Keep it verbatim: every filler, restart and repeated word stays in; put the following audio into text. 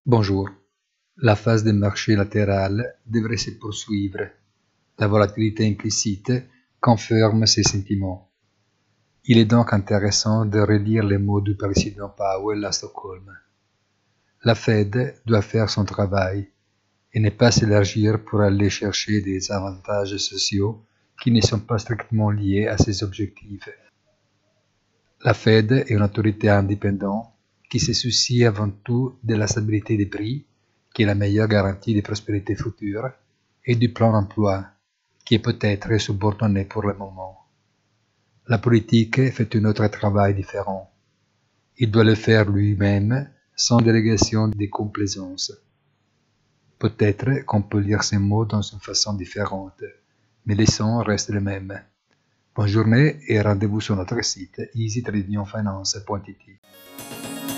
Bonjour. La phase des marchés latérales devrait se poursuivre. La volatilité implicite confirme ces sentiments. Il est donc intéressant de relire les mots du président Powell à Stockholm. La Fed doit faire son travail et ne pas s'élargir pour aller chercher des avantages sociaux qui ne sont pas strictement liés à ses objectifs. La Fed est une autorité indépendante qui se soucie avant tout de la stabilité des prix, qui est la meilleure garantie de prospérité future, et du plan d'emploi, qui est peut-être subordonné pour le moment. La politique fait un autre travail différent. Il doit le faire lui-même, sans délégation de complaisance. Peut-être qu'on peut lire ces mots dans une façon différente, mais les sons restent les mêmes. Bonne journée et rendez-vous sur notre site easy trading finance point it.